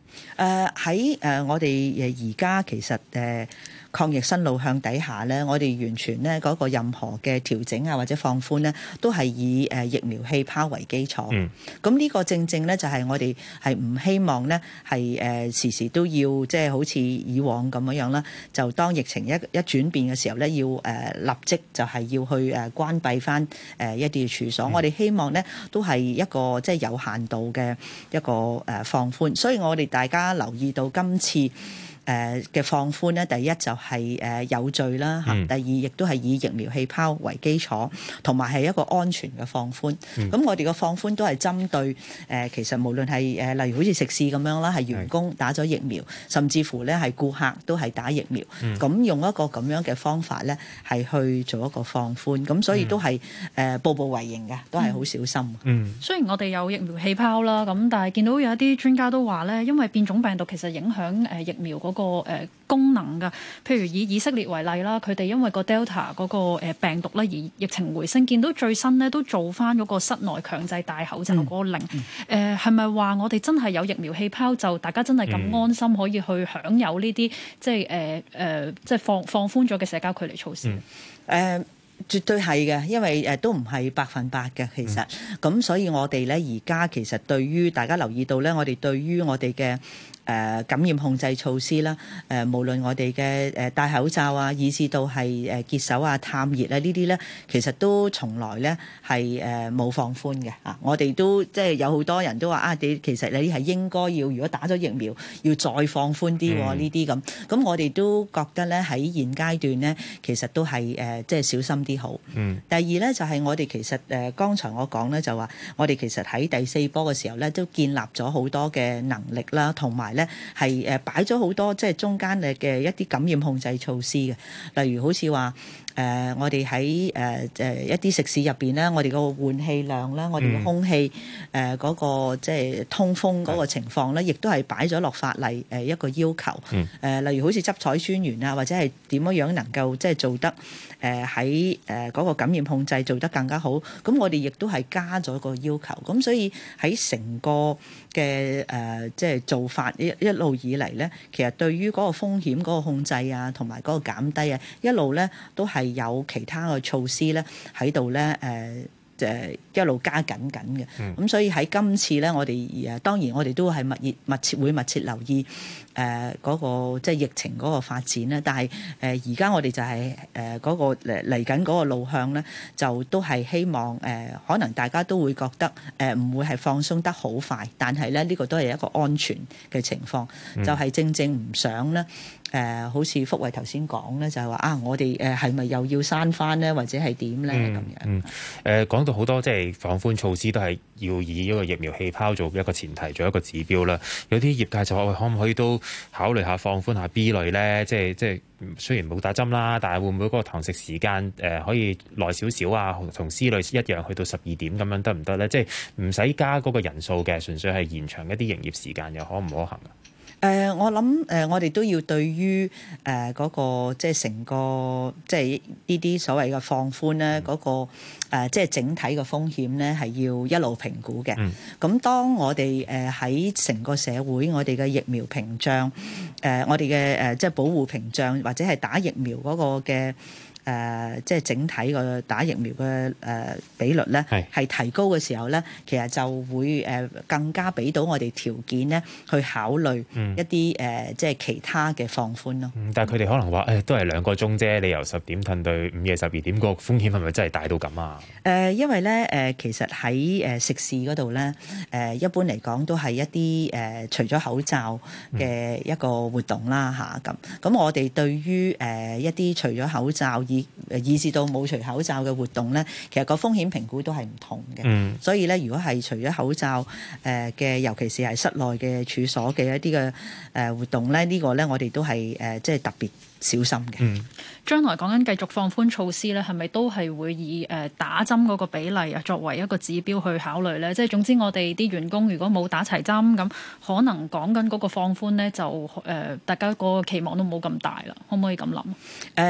誒喺誒我哋誒而家其實誒。呃抗疫新路向底下咧，我哋完全咧嗰個任何嘅調整啊或者放寬咧，都係以誒疫苗氣泡為基礎。嗯，咁呢個正正咧就係我哋係唔希望咧係誒時時都要即係好似以往咁樣樣啦。就當疫情一一轉變嘅時候咧，要誒立即就係要去誒關閉翻誒一啲嘅處所。嗯、我哋希望咧都係一個即係有限度嘅一個誒放寬。所以我哋大家留意到今次誒嘅放寬咧，第一就係誒有序啦嚇，第二亦都係以疫苗氣泡為基礎，同埋係一個安全嘅放寬。咁、嗯、我哋嘅放寬都係針對誒，其實無論係誒，例如好似食肆咁樣啦，係員工打咗疫苗，甚至乎咧係顧客都係打疫苗，咁、嗯、用一個咁樣嘅方法咧，係去做一個放寬。咁所以都係誒步步為營嘅，都係好小心。 嗯，雖然我哋有疫苗氣泡啦，咁但係見到有一啲專家都話咧，因為變種病毒其實影響誒疫苗嗰、那個個誒功能㗎，譬如以以色列為例啦，佢哋因為個 Delta 嗰個誒病毒咧而疫情回升，見到最新咧都做翻嗰個室內強制戴口罩嗰個令。誒係咪話我哋真係有疫苗氣泡，就大家真係咁安心可以去享有呢啲即係誒誒即係放放寬咗嘅社交距離措施？誒、 嗯。Uh, 絕對係嘅，因為誒都唔係百分百嘅，其實咁，嗯、所以我哋咧而家其實對於大家留意到咧，我哋對於我哋嘅誒感染控制措施啦，誒、呃、無論我哋嘅誒戴口罩啊，以至到係誒潔手啊、探熱啊呢啲咧，其實都從來咧係誒冇放寬嘅啊！我哋都即係有好多人都話啊，你其實你係應該要，如果打咗疫苗，要再放寬啲呢啲咁。咁我哋都覺得咧喺現階段咧，其實都係誒即係小心啲好。嗯。第二咧就係、是、我哋其實誒剛才我講咧就話，我哋其實喺第四波嘅時候咧都建立咗好多嘅能力啦，同埋咧係誒擺咗好多即係中間嘅嘅一啲感染控制措施嘅，例如好似話誒我哋喺誒誒一啲食肆入邊咧，我哋個換氣量啦，我哋嘅空氣誒嗰個即係通風嗰個情況咧，亦都係擺咗落法例誒一個要求。嗯。誒例如好似執採專員啊，或者係點樣樣能夠即係做得誒喺誒嗰個感染控制做得更加好，咁我哋亦都係加咗個要求。咁所以喺成個嘅誒即係做法一一路以嚟咧，其實對於嗰個風險嗰個控制啊，同埋嗰個減低啊，一路咧都係有其他嘅措施咧喺度咧誒誒一路加緊緊嘅。咁、嗯、所以喺今次咧，我哋誒當然我哋都係密切密切會密切留意誒嗰、呃那個即係疫情嗰個發展咧。但係誒而家我哋就係誒嗰個嚟嚟緊嗰個路向咧，就都係希望誒、呃、可能大家都會覺得誒唔、呃、會係放鬆得好快，但係咧呢、這個都係一個安全嘅情況，嗯、就係正正唔想咧。誒、呃，好似福慧頭先講咧，就係、是、話啊，我哋誒係咪又要閂翻咧，或者係點咧咁樣？ 嗯，誒、呃、講到好多即係放寬措施，都係要以一個疫苗氣泡做一個前提，做一個指標啦。有啲業界就話，可唔可以都考慮下放寬下 B 類咧？即係即係雖然冇打針啦，但係會唔會嗰個堂食時間誒、呃、可以耐少少啊？同 C 類一樣去到十二點咁樣得唔得咧？即係唔使加嗰個人數嘅，純粹係延長一啲營業時間，又可唔可行啊？ 誒、呃，我諗誒、呃，我哋都要對於誒嗰、呃那個即係成個即係呢啲所謂嘅放寬咧，嗰、那個、呃、即係整體嘅風險咧，係要一路評估嘅。咁、嗯、當我哋誒喺成個社會，我哋嘅疫苗屏障，誒、呃、我哋嘅誒即係保護屏障，或者係打疫苗嗰個嘅。誒、呃，即係整體個打疫苗嘅誒、呃、比率咧，係提高嘅時候咧，其實就會誒、呃、更加俾到我哋條件咧，去考慮一啲誒、嗯呃、即係其他嘅放寬咯、嗯。 但係佢哋可能話誒、哎，都係兩個鐘啫，你由十點褪到午夜十二點，個風險係咪真係大到咁啊？誒、 呃，因為咧誒、呃，其實喺誒食肆嗰度咧，誒、呃、一般嚟講都係一啲誒、呃、除咗口罩嘅一個活動啦嚇咁。咁、啊、我哋對於誒、呃、一啲除咗口罩以誒以至到冇除口罩嘅活動咧，其實個風險評估都係唔同嘅。嗯、所以咧，如果係除咗口罩誒嘅、呃，尤其是係室內嘅處所嘅一啲嘅誒活動咧，這個、呢個咧我哋都係誒即係特別小心嘅。嗯， 將來講緊繼續放寬措施咧，係咪都係會以誒打針嗰個比例啊作為一個指標去考慮咧？即係總之，我哋啲員工如果冇打齊針，咁可能講緊嗰個放寬咧，就誒、呃、大家個期望都冇咁大啦。可唔可以咁諗？誒、呃。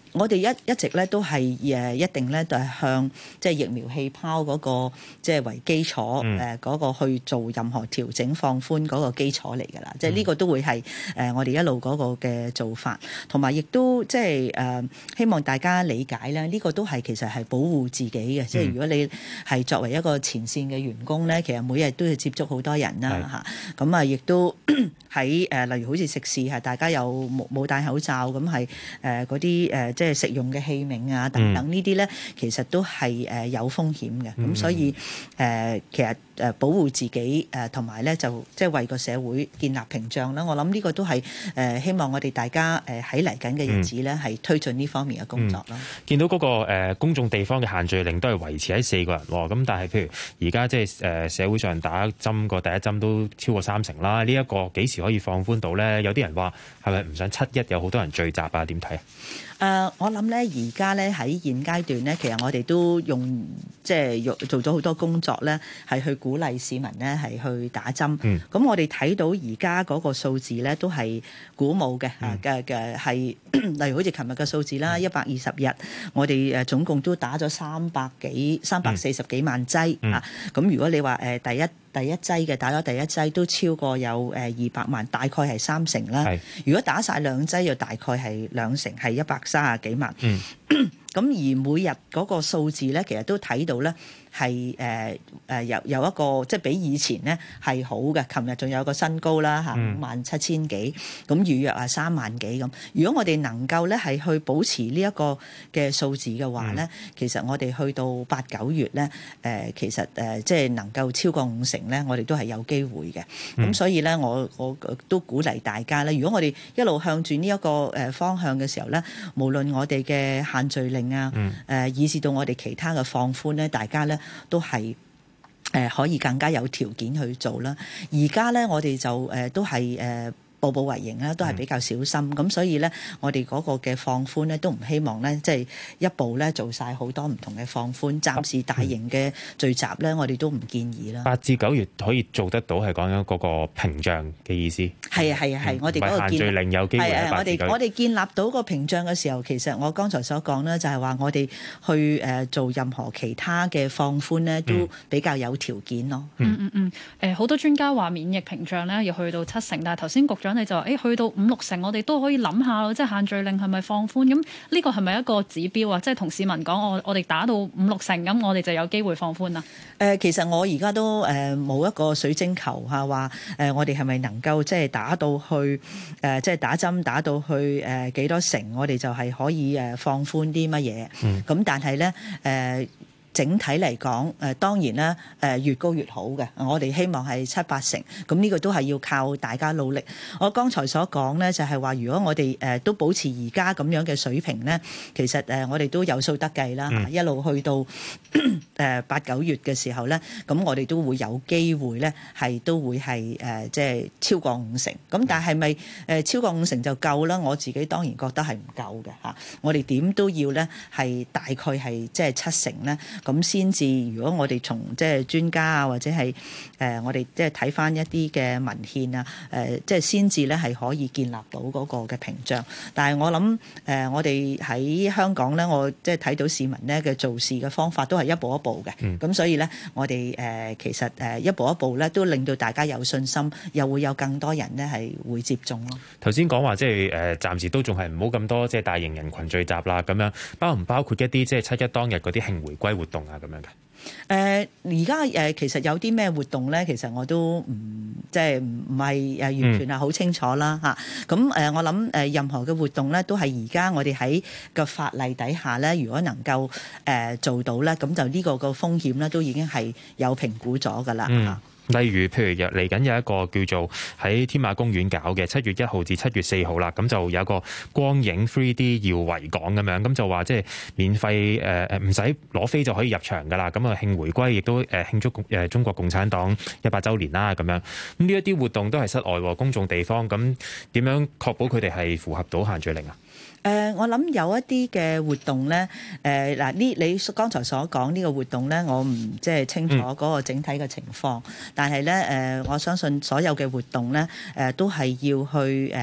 我哋一一直咧都係誒一定咧，就係向即係疫苗氣泡嗰個即係為基礎誒嗰個去做任何調整放寬嗰個基礎嚟㗎啦。即係呢個都會係誒我哋一路嗰個嘅做法，同埋亦都即係誒希望大家理解咧，呢個都係其實係保護自己嘅。即係如果你係作為一個前線嘅員工咧，其實每日都要接觸好多人啦嚇，咁啊亦都喺誒例如好似食肆係大家又冇冇戴口罩，咁係誒嗰啲誒即係食用嘅器皿啊等等呢啲咧，其實都係誒有風險嘅。咁、嗯、所以誒、呃、其實誒保護自己誒同埋咧就即係為個社會建立屏障啦。我諗呢個都係誒希望我哋大家誒喺嚟緊嘅日子咧係推進呢方面嘅工作咯、嗯。 見到嗰、那個誒、呃、公眾地方嘅限聚令都係維持喺四個人喎，咁但係譬如而家即係誒社會上打針個第一針都超過三成啦，呢、這、一個幾時可以放寬到咧？有啲人話係咪唔想七一有好多人聚集啊？點睇啊？ 誒、uh，我諗咧，而家咧喺現階段咧，其實我哋都用即係用做咗好多工作咧，係去鼓勵市民咧係去打針。咁、嗯、我哋睇到而家嗰個數字咧都係鼓舞嘅嚇嘅嘅係，例如好似琴日嘅數字啦，一百二十日，我哋誒總共都打咗三百幾三百四十幾萬劑啊。咁、嗯嗯、如果你話誒第一第一劑嘅打咗第一劑都超過有誒二百萬，大概係三成啦。如果打晒兩劑，又大概係兩成，係一百三十幾萬。嗯咁而每日嗰個數字咧，其實都睇到咧係誒誒有有一個即係比以前咧係好嘅。琴日仲有個新高啦嚇，五萬七千幾，咁預約啊三萬幾咁。如果我哋能夠咧係去保持呢一個嘅數字嘅話咧、嗯，其實我哋去到八九月咧誒、呃，其實誒、呃、即係能夠超過五成咧，我哋都係有機會嘅。咁、嗯、所以咧，我我都鼓勵大家咧，如果我哋一路向住呢一個誒方向嘅時候咧，無論我哋嘅限聚令啊，誒、嗯呃，以至到我哋其他嘅放寬咧，大家咧都係誒、呃、可以更加有條件去做啦。而家咧，我哋就誒、呃、都係誒。呃步步為營啦，都係比較小心咁、嗯，所以咧，我哋嗰個嘅放寬咧，都唔希望咧，即係一步咧做晒好多唔同嘅放寬。暫時大型嘅聚集咧，我哋都唔建議啦。八至九月可以做得到，係講緊嗰個屏障嘅意思。係啊係啊係、嗯，我哋嗰個限聚令有機會喺八至九月。我哋我哋建立到個屏障嘅時候，其實我剛才所講咧，就係話我哋去誒做任何其他嘅放寬咧，都比較有條件咯。 嗯嗯嗯。誒、嗯，好、呃、多專家話免疫屏障咧要去到七成，但係頭先局長你就話，誒去到五六成，我哋都可以諗下咯，即係限聚令係咪放寬？咁呢個係咪一個指標啊？即係同市民講，我我哋打到五六成，咁我哋就有機會放寬啦。誒、 呃，其實我而家都誒冇、呃、一個水晶球嚇，話誒、呃、我哋係咪能夠即係打到去誒、呃，即係打針打到去誒幾、呃、多成，我哋就係可以誒放寬啲乜嘢？嗯，咁但係咧誒。呃整體嚟講，誒當然啦，誒越高越好嘅。我哋希望係七八成，咁呢個都係要靠大家努力。我剛才所講咧，就係話，如果我哋誒都保持而家咁樣嘅水平咧，其實誒我哋都有數得計啦。嗯、一路去到誒八九月嘅時候咧，咁我哋都會有機會咧，係都會係誒即係超過五成。咁但係咪誒超過五成就夠啦？我自己當然覺得係唔夠嘅嚇。我哋點都要咧係大概係即係七成咧。咁先至，如果我哋從即係專家啊，或者係誒、呃、我哋即係睇翻一啲嘅文獻啊，誒、呃、即係先至咧係可以建立到嗰個嘅屏障。但係我諗誒、呃，我哋喺香港咧，我即係睇到市民咧嘅做事嘅方法都係一步一步嘅。咁、嗯、所以咧，我哋誒、呃、其實誒一步一步咧，都令到大家有信心，又會有更多人咧係會接種咯。頭先講話即係誒，暫時都仲係唔好咁多即係大型人群聚集啦，咁樣包唔包括一啲即係七一當日嗰啲慶回歸活動啊，咁樣嘅。誒而家誒其實有啲咩活動咧？其實我都唔即係唔唔係誒完全係好清楚啦嚇。咁、嗯、誒、呃、我諗誒任何嘅活動咧，都係而家我哋喺個法例底下咧，如果能夠誒、呃、做到咧，咁就呢個個風險咧都已經係有評估咗㗎啦嚇。嗯例如，譬如嚟緊有一個叫做喺天馬公園搞嘅七月一號至七月四號啦，咁就有一個光影 three D 耀維港咁樣，咁就話即係免費誒誒唔使攞飛就可以入場噶啦，咁啊慶回歸亦都誒慶祝誒中國共產黨一百週年啦咁樣，咁呢一啲活動都係室外公眾地方，咁點樣確保佢哋係符合到限聚令啊？誒、呃，我諗有一啲嘅活動咧，誒嗱呢，你剛才所講呢個活動咧，我唔即係清楚嗰個整體嘅情況，嗯、但係咧誒，我相信所有嘅活動咧，誒、呃、都係要去誒。呃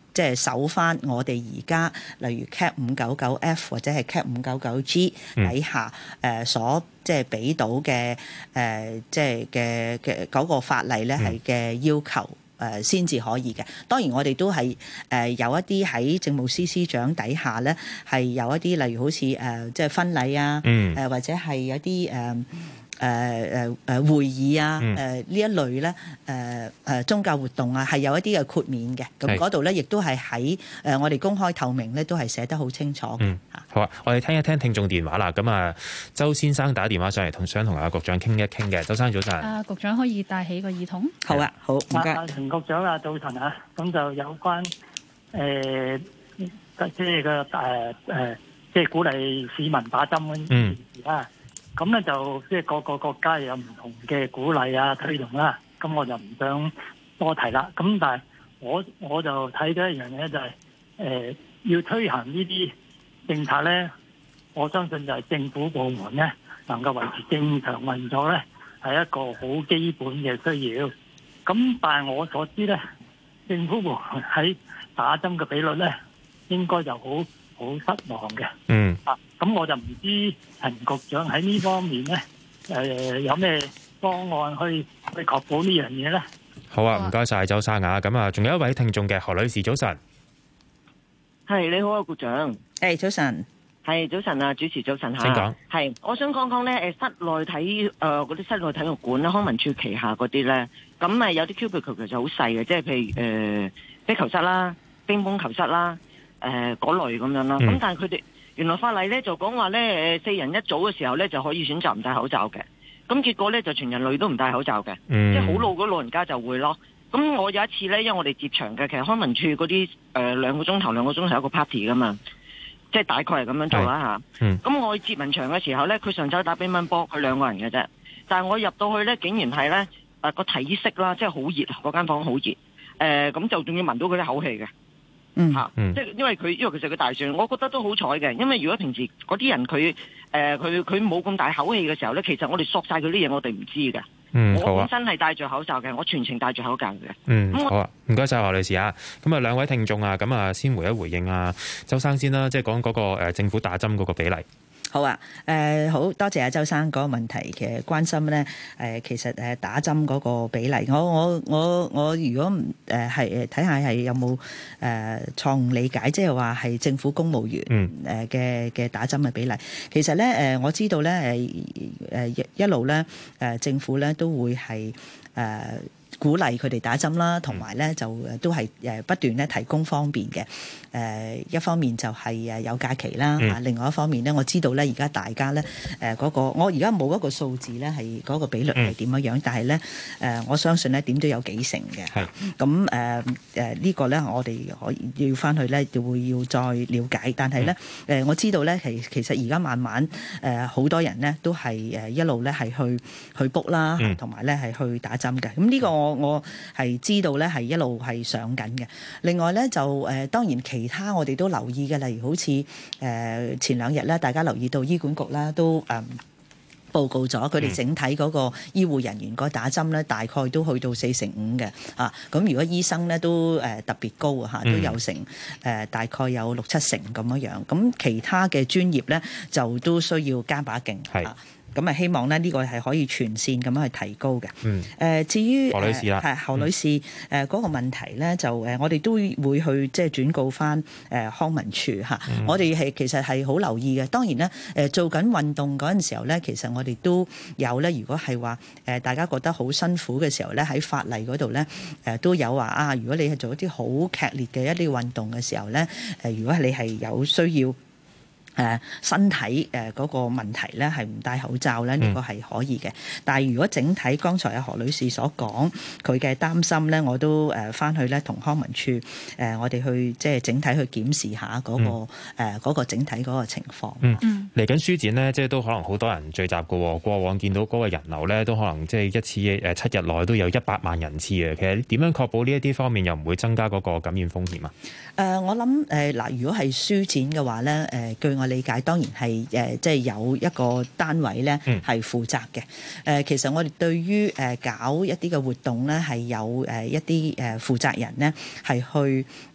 即係守翻我哋而家例如 Cap 五九九 F 或者係 Cap 五九九 G 底下誒、呃、所即係俾到嘅誒即係嘅嘅嗰個法例咧係嘅要求。誒先至可以嘅，當然我哋都係誒、呃、有一啲喺政務司司長底下咧，係有一啲例如好似誒、呃、即係婚禮啊，誒、嗯呃、或者係有啲誒誒誒誒會議啊，誒、嗯、呢、呃、一類咧，誒、呃、誒、呃、宗教活動啊，係有一啲嘅豁免嘅，咁嗰度咧亦都係喺誒我哋公開透明咧，都係寫得好清楚嘅。嗯， 好啊，我哋聽一聽聽眾電話啦。咁啊，周先生打電話上嚟，同想同阿局長傾一傾嘅。周生早晨。啊， 局長可以戴起個耳筒。 好啊，好唔該。 啊，陳局長啊，早晨啊，咁就有關誒，即係個誒誒，即係鼓勵市民打針嗰件事啦。咁咧就即係各個國家有唔同嘅鼓勵啊推動啦，咁我就唔想多提啦。咁但係我我就睇到一樣嘢就係、是、誒、呃、要推行呢啲政策咧，我相信就係政府部門咧能夠維持正常運作咧，係一個好基本嘅需要。咁但係我所知咧，政府部門喺打針嘅比率咧，應該就好好失望嘅。嗯。啊，咁我就唔知陳局長喺呢方面咧，誒、呃、有咩方案去去確保呢樣嘢咧？ 好啊，唔該晒周生啊。咁啊，仲有一位聽眾嘅何女士，早晨。 係，你好啊，局長。 誒，早晨。 係，早晨啊，主持早晨嚇。 請講。 係，我想講講咧，誒室內體誒嗰啲室內體育館咧，康文署旗下嗰啲咧，咁誒有啲 cubicle 其實好細嘅，即係譬如誒壁球室啦、乒乓球室啦、誒嗰類咁樣啦。咁、嗯、但係佢哋原來法例咧就講話咧，誒四人一組嘅時候咧就可以選擇唔戴口罩嘅。咁結果咧就全人類都唔戴口罩嘅、嗯，即係好老嗰老人家就會咯。咁我有一次咧，因為我哋接場嘅，其實康文署嗰啲誒兩個鐘頭兩個鐘頭有個 party 噶嘛。即係大概係咁樣做啦嚇。咁、嗯、我去接民場嘅時候咧，佢上晝打乒乓波，佢兩個人嘅啫。但係我入到去咧，竟然係咧誒個體式啦，即係好熱，嗰間房好熱。誒、呃、咁就仲要聞到佢啲口氣嘅。嗯嚇、嗯，即係因為佢因為其實佢大選，我覺得都好彩嘅。因為如果平時嗰啲人佢誒佢佢冇咁大口氣嘅時候咧，其實我哋索晒佢啲嘢，我哋唔知嘅。嗯，我本身係戴住口罩嘅，我全程戴住口罩嘅。 嗯，好啊，唔該晒何女士啊。咁啊，兩位聽眾啊，咁啊，先回一回應啊，周生先啦，即係講嗰個誒政府打針嗰個比例。 好啊，誒、呃、好多謝阿周生嗰個問題嘅關心咧。誒、呃、其實誒打針嗰個比例，我我我我如果唔誒係誒睇下係有冇誒、呃、錯誤理解，即係話係政府公務員誒嘅嘅打針嘅比例。其實咧誒、呃、我知道咧誒誒一路咧誒政府咧都會係誒。呃鼓勵佢哋打針啦，同埋咧就都係誒不斷咧提供方便嘅。誒一方面就係誒有假期啦，嚇、嗯。另外一方面咧，我知道咧而家大家咧誒嗰個，我而家冇一個數字咧係嗰個比率係點樣樣，嗯、但係咧誒我相信咧點都有幾成嘅。係。咁誒誒呢個咧我哋可以要翻去咧就會要再了解，但係咧誒我知道咧其其實而家慢慢誒好多人咧都係誒一路咧係去去 book 啦，同埋咧係去打針嘅。咁呢個我我係知道咧係一路係上緊嘅。另外咧就誒、呃、當然其他我哋都留意嘅，例如好似誒、呃、前兩日咧，大家留意到醫管局啦都誒、呃、報告咗佢哋整體嗰個醫護人員個打針咧，大概都去到四成五嘅啊。咁如果醫生咧都誒、呃、特別高啊，嚇都有成誒、呃、大概有六七成咁樣樣。咁其他嘅專業咧就都需要加把勁啊。咁啊，希望咧呢個係可以全線咁樣去提高嘅。嗯。誒、呃，至於何女士啦，係、呃、 何女士誒嗰、呃那個問題咧，就誒我哋都會去即係轉告翻誒康文署嚇。嗯、我哋係其實係好留意嘅。當然咧，誒、呃、做緊運動嗰陣時候咧，其實我哋都有咧。如果係話誒大家覺得好辛苦嘅時候咧，喺法例嗰度咧誒都有話啊。如果你係做一啲好劇烈嘅一啲運動嘅時候咧，誒、呃、如果你係有需要。誒、呃、身體誒嗰個問題咧係唔戴口罩咧，呢、這個係可以嘅、嗯。但係如果整體剛才阿何女士所講佢嘅擔心咧，我都誒翻、呃、去咧同康文署誒、呃、我哋去即係整體去檢視下嗰、那個誒嗰、嗯呃那個整體嗰個情況。 嗯，嚟緊書展咧，即係都可能好多人聚集嘅喎。過往見到嗰個人流咧，都可能即係一次誒七日內都有一百萬人次嘅。其實點樣確保呢一啲方面又唔會增加嗰個感染風險啊？誒、 呃，我諗誒嗱，如果係書展嘅話咧，誒、呃、據我理解當然係誒即係有一個單位咧係負責嘅。誒、嗯、其實我哋對於誒搞一啲嘅活動咧係有誒一啲誒負責人咧係去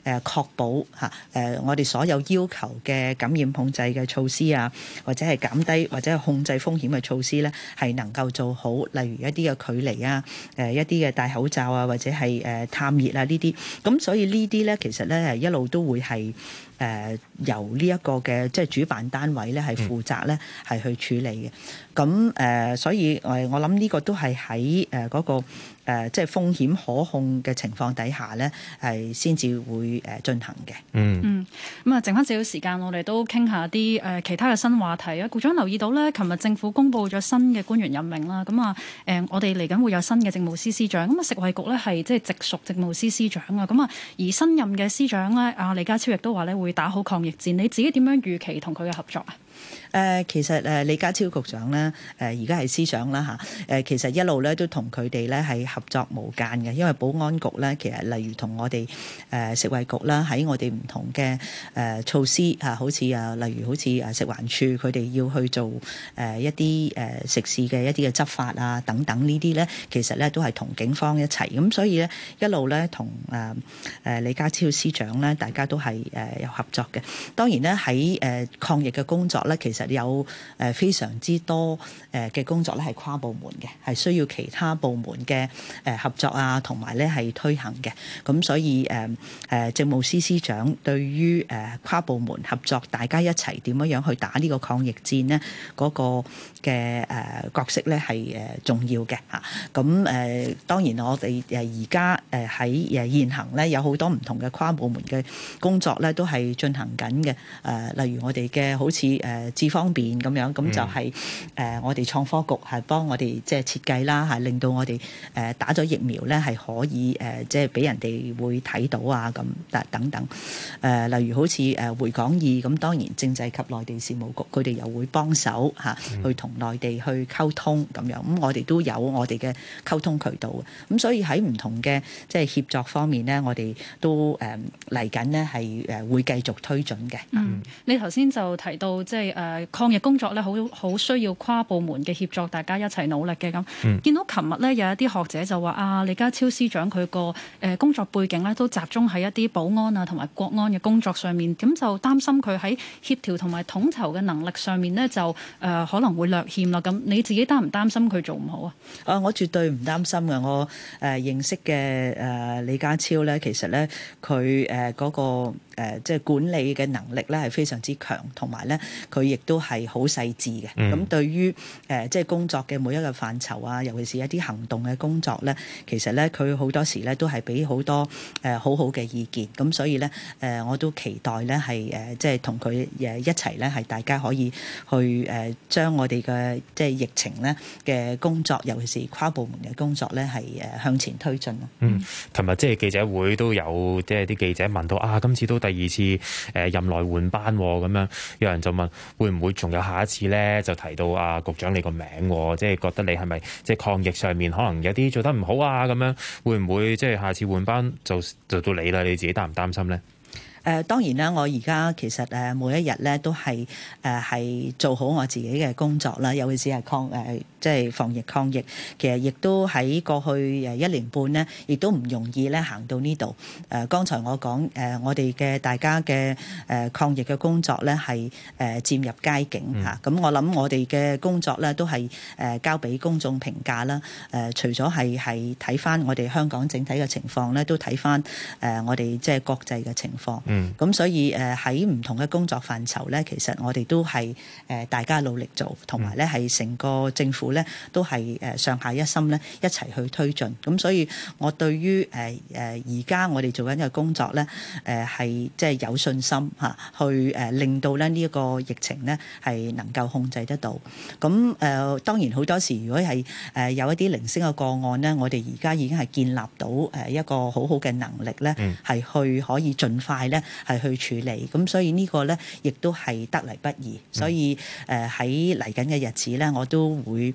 誒確保嚇誒我哋所有要求嘅感染控制嘅措施啊，或者係減低或者係控制風險嘅措施咧，係能夠做好。例如一啲嘅距離啊，誒一啲嘅戴口罩啊，或者係誒探熱啊呢啲。咁所以呢啲咧，其實咧係一路都會係。誒、呃、由呢一個嘅即係主辦單位咧係負責咧係去處理嘅，咁誒、呃、所以誒我諗呢個都係喺誒嗰個誒、呃、即係風險可控嘅情況底下咧係先至會誒進行嘅。 嗯嗯，咁啊，剩翻少少時間，我哋都傾下啲誒其他嘅新話題啊。局長留意到咧，琴日政府公布咗新嘅官員任命啦，咁啊誒我哋嚟緊會有新嘅政務司司長，咁啊食衞局咧係即係直屬政務司司長啊，咁啊而新任嘅司長咧，阿李家超亦都話咧會打好抗疫戰，你自己點樣預期同佢嘅合作啊？ 誒、呃、其實誒李家超局長咧，誒而家係司長啦嚇，誒其實一路咧都同佢哋咧係合作無間嘅，因為保安局咧其實例如同我哋誒食衞局啦，喺我哋唔同嘅誒措施嚇，好似啊例如好似誒食環署佢哋要去做誒一啲誒食肆嘅一啲嘅執法啊等等呢啲咧，其實咧都係同警方一齊，咁所以咧一路咧同誒誒李家超司長咧，大家都係誒有合作嘅。當然咧喺誒抗疫嘅工作咧，其實有誒非常之多誒嘅工作咧係跨部門嘅，係需要其他部門嘅誒合作啊，同埋咧係推行嘅。咁所以誒誒政務司司長對於誒跨部門合作，大家一齊點樣樣去打呢個抗疫戰呢？嗰個嘅誒角色咧係誒重要嘅嚇。咁誒當然我哋誒而家誒喺誒現行咧有好多唔同嘅跨部門嘅工作咧都係進行緊嘅。誒例如我哋嘅好似誒智方便咁樣，咁就係誒我哋創科局係幫我哋即係設計啦，係令到我哋誒打咗疫苗咧係可以誒即係俾人哋會睇到啊咁等等。誒例如好似誒回港易咁，當然政制及內地事務局佢哋又會幫手嚇去同內地去溝通咁樣。咁我哋都有我哋嘅溝通渠道嘅。咁所以喺唔同嘅即係協作方面咧，我哋都誒嚟緊呢係誒會繼續推進嘅。 嗯，你頭先就提到即係誒抗疫工作咧，好好需要跨部門嘅協作，大家一齊努力嘅咁。嗯、見到琴日咧有一啲學者就話啊，李家超司長佢個誒工作背景咧都集中喺一啲保安啊同埋國安嘅工作上面，咁就擔心佢喺協調同埋統籌嘅能力上面咧就誒、呃、可能會略欠啦。咁你自己擔唔擔心佢做唔好啊？ 啊，我絕對唔擔心嘅。我誒、呃、認識嘅誒、呃、李家超咧，其實咧佢誒嗰個誒、呃、即係管理嘅能力咧係非常之強，同埋咧佢亦都係好細緻嘅。咁、嗯、對於誒、呃、即係工作嘅每一個範疇啊，尤其是一啲行動嘅工作咧，其實咧佢好多時咧都係俾好多誒、呃、好好嘅意見。咁所以咧誒、呃、我都期待咧係誒即係同佢誒一齊咧係大家可以去誒將、呃、我哋嘅即係疫情咧嘅工作，尤其是跨部門嘅工作咧係誒向前推進咯。 嗯，琴日即係記者會都有即係啲記者問到啊，今次都第二次誒任內換班咁樣，有人就問會唔會仲有下一次咧？就提到啊局長你個名，即係覺得你係咪即係抗疫上面可能有啲做得唔好啊？咁樣會唔會即係下次換班就就到你啦？你自己擔唔擔心咧？ 誒、呃、當然啦，我而家其實誒每一日咧都係誒係做好我自己嘅工作啦，尤其是係抗誒、呃、即係防疫抗疫，其實亦都喺過去誒一年半咧，亦都唔容易咧行到呢度。誒、呃、剛才我講誒、呃、我哋嘅大家嘅誒、呃、抗疫嘅工作咧係誒漸入佳境嚇。咁、嗯啊、我諗我哋嘅工作咧都係誒、呃、交俾公眾評價啦。誒、呃、除咗係係睇翻我哋香港整體嘅情況咧，都睇翻誒我哋即係國際嘅情況。咁、嗯、所以誒喺唔同嘅工作範疇咧，其實我哋都係誒大家努力做，同埋咧係成個政府咧都係誒上下一心咧一齊去推進。咁所以我對於誒誒而家我哋做緊嘅工作咧誒係即係有信心嚇，去誒令到咧呢一個疫情咧係能夠控制得到。咁誒、呃、當然好多時如果係誒有一啲零星嘅個案咧，我哋而家已經係建立到誒一個好好嘅能力咧，係去可以盡快咧係去處理。咁所以呢個咧亦都係得嚟不易。所以誒喺嚟緊嘅日子咧，我都會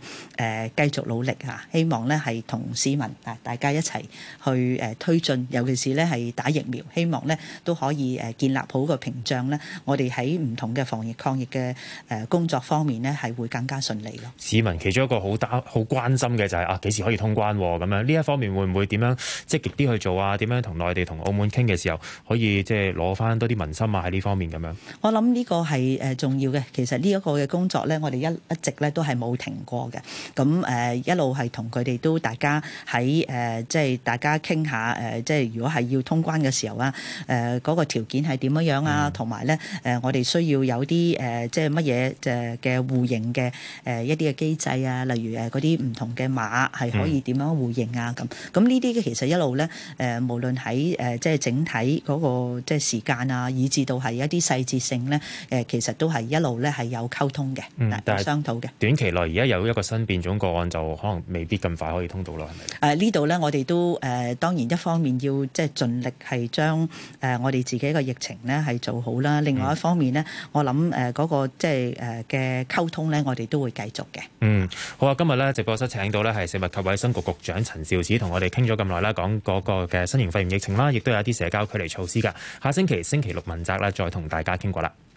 誒繼續努力嚇，希望咧係同市民啊大家一齊去誒推進，尤其是咧係打疫苗，希望咧都可以誒建立好個屏障咧，我哋喺唔同嘅防疫抗疫嘅誒工作方面咧係會更加順利咯。 市民其中一個好擔好關心嘅就係、是、啊幾時可以通關咁樣，呢一方面會唔會點樣積極啲去做啊？點樣同內地同澳門傾嘅時候可以即係攞翻多啲民心啊？喺呢方面咁樣， 我諗呢個係誒重要嘅。其實呢一個嘅工作咧，我哋一一直咧都係冇停過嘅。咁誒一路係同佢哋都大家喺誒即係大家傾下誒，即係如果係要通關嘅時候啊，誒嗰個條件係點樣樣啊？同埋咧誒，我哋需要有啲誒即係乜嘢誒嘅互認嘅誒一啲嘅機制啊，例如誒嗰啲唔同嘅碼係可以點樣互認啊？咁咁呢啲嘅其實一路咧誒，無論喺誒即係整體嗰個即係時間啊，以至到係一啲細節性咧誒，其實都係一路咧係有溝通嘅，嗯、有商討嘅。 短期內而家有一個新變種個案，就可能未必咁快可以通到咯，係咪？ 誒呢度咧，我哋都誒、呃、當然一方面要即係盡力係將誒我哋自己嘅疫情咧係做好啦。另外一方面咧，嗯、我諗誒嗰個即係誒嘅溝通咧，我哋都會繼續嘅。 嗯，好啊！今日咧直播室請到咧係食物及衛生局局長陳肇始，同我哋傾咗咁耐啦，講嗰個嘅新型肺炎疫情啦，亦都有一啲社交距離措施㗎。下星期星期六問責啦，再同大家傾過啦。